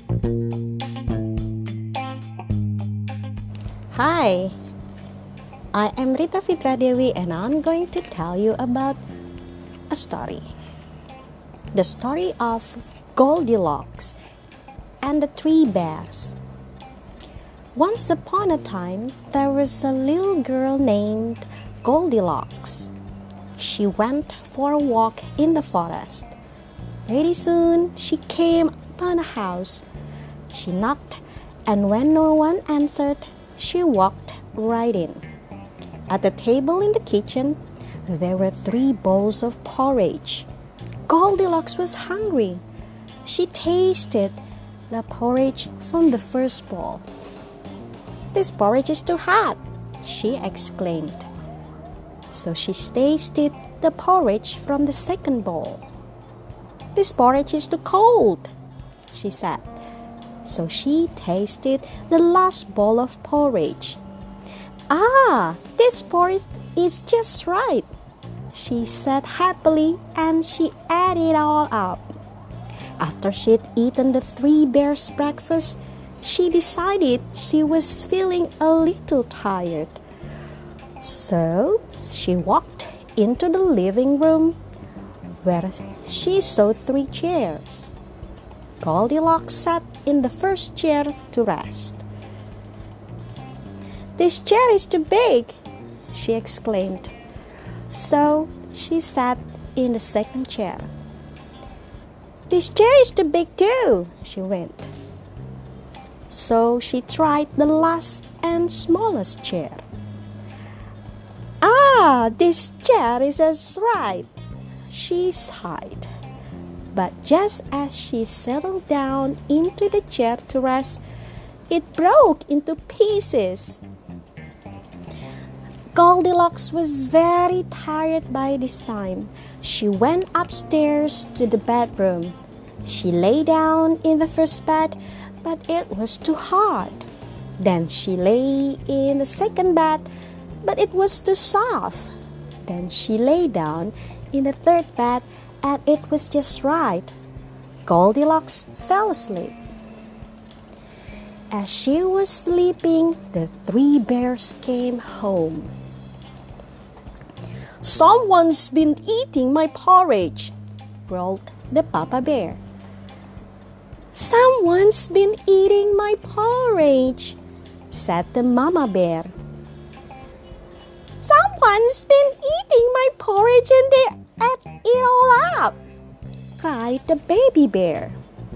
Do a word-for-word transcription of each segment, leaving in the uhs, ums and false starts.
Hi, I am Rita Fitra Dewi and I'm going to tell you about a story. The story of Goldilocks and the Three Bears. Once upon a time, there was a little girl named Goldilocks. She went for a walk in the forest. Pretty soon, she came upon a house. She knocked, and when no one answered, she walked right in. At the table in the kitchen, there were three bowls of porridge. Goldilocks was hungry. She tasted the porridge from the first bowl. "This porridge is too hot," she exclaimed. So she tasted the porridge from the second bowl. "This porridge is too cold," she said. So she tasted the last bowl of porridge. "Ah, this porridge is just right," she said happily, and she ate it all up. After she'd eaten the three bears' breakfast, she decided she was feeling a little tired. So she walked into the living room where she saw three chairs. Goldilocks sat in the first chair to rest. "This chair is too big," she exclaimed. So she sat in the second chair. "This chair is too big too," she went. So she tried the last and smallest chair. "Ah, this chair is just right," she sighed. But just as she settled down into the chair to rest, it broke into pieces. Goldilocks was very tired by this time. She went upstairs to the bedroom. She lay down in the first bed, but it was too hard. Then she lay in the second bed, but it was too soft. Then she lay down in the third bed, and it was just right. Goldilocks fell asleep. As she was sleeping, the three bears came home. "Someone's been eating my porridge," growled the Papa Bear. "Someone's been eating my porridge," said the Mama Bear. "Someone's been eating my porridge and they ate it all up," cried the Baby Bear.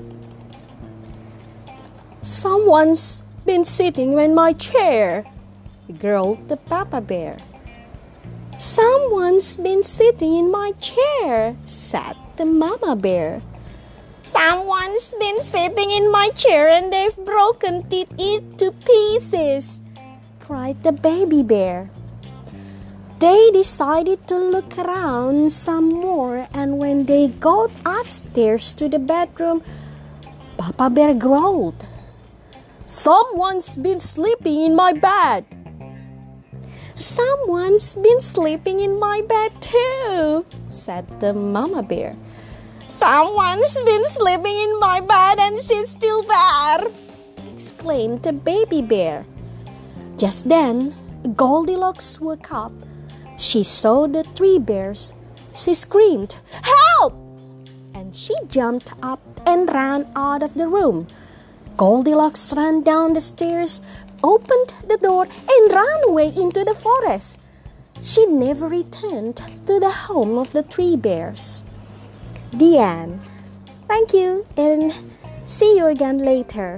"Someone's been sitting in my chair," growled the Papa Bear. "Someone's been sitting in my chair," said the Mama Bear. "Someone's been sitting in my chair and they've broken it into pieces," cried the Baby Bear. They decided to look around some more, and when they got upstairs to the bedroom, Papa Bear growled, "Someone's been sleeping in my bed." "Someone's been sleeping in my bed too," said the Mama Bear. "Someone's been sleeping in my bed and she's still there," exclaimed the Baby Bear. Just then, Goldilocks woke up. She saw the three bears. She screamed, "Help!" And she jumped up and ran out of the room. Goldilocks ran down the stairs, opened the door, and ran away into the forest. She never returned to the home of the three bears. The end. Thank you, and see you again later.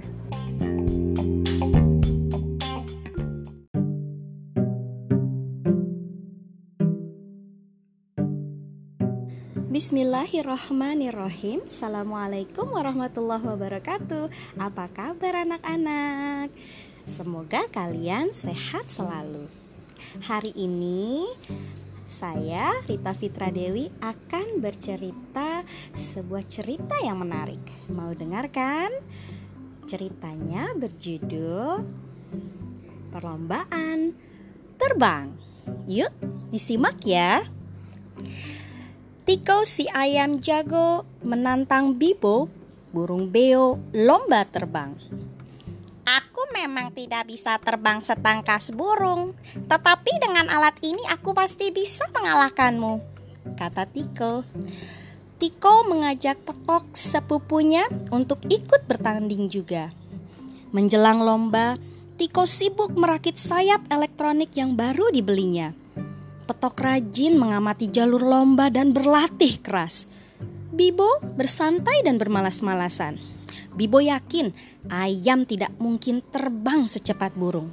Bismillahirrahmanirrahim. Assalamualaikum warahmatullahi wabarakatuh. Apa kabar anak-anak? Semoga kalian sehat selalu. Hari ini saya, Rita Fitra Dewi, akan bercerita sebuah cerita yang menarik. Mau dengarkan? Ceritanya berjudul Perlombaan Terbang. Yuk, disimak ya. Tiko si ayam jago menantang Bibo burung beo lomba terbang. Aku memang tidak bisa terbang setangkas burung, tetapi dengan alat ini aku pasti bisa mengalahkanmu, kata Tiko. Tiko mengajak Petok sepupunya untuk ikut bertanding juga. Menjelang lomba, Tiko sibuk merakit sayap elektronik yang baru dibelinya. Petok rajin mengamati jalur lomba dan berlatih keras. Bibo bersantai dan bermalas-malasan. Bibo yakin ayam tidak mungkin terbang secepat burung.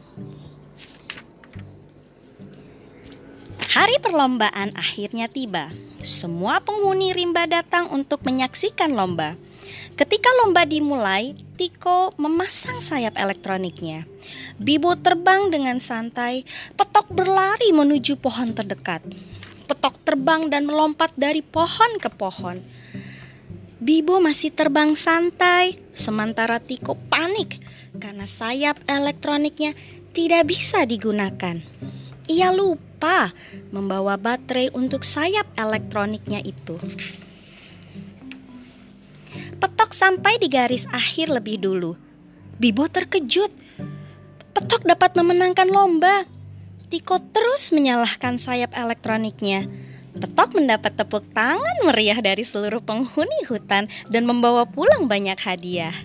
Hari perlombaan akhirnya tiba. Semua penghuni rimba datang untuk menyaksikan lomba. Ketika lomba dimulai, Tiko memasang sayap elektroniknya. Bibo terbang dengan santai, Petok berlari menuju pohon terdekat. Petok terbang dan melompat dari pohon ke pohon. Bibo masih terbang santai, sementara Tiko panik karena sayap elektroniknya tidak bisa digunakan. Ia lupa membawa baterai untuk sayap elektroniknya itu. Petok sampai di garis akhir lebih dulu. Bibo terkejut. Petok dapat memenangkan lomba. Tiko terus menyalahkan sayap elektroniknya. Petok mendapat tepuk tangan meriah dari seluruh penghuni hutan dan membawa pulang banyak hadiah.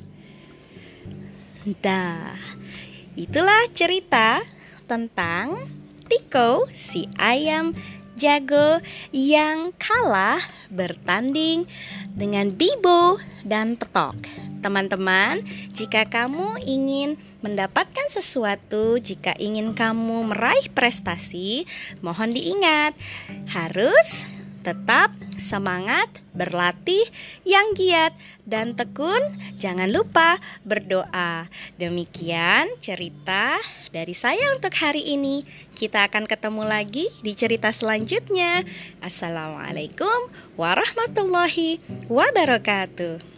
Nah, itulah cerita tentang Tiko, si ayam jago yang kalah bertanding dengan Bibo dan Petok. Teman-teman, jika kamu ingin mendapatkan sesuatu, jika ingin kamu meraih prestasi, mohon diingat, harus tetap semangat, berlatih yang giat dan tekun. Jangan lupa berdoa. Demikian cerita dari saya untuk hari ini. Kita akan ketemu lagi di cerita selanjutnya. Assalamualaikum warahmatullahi wabarakatuh.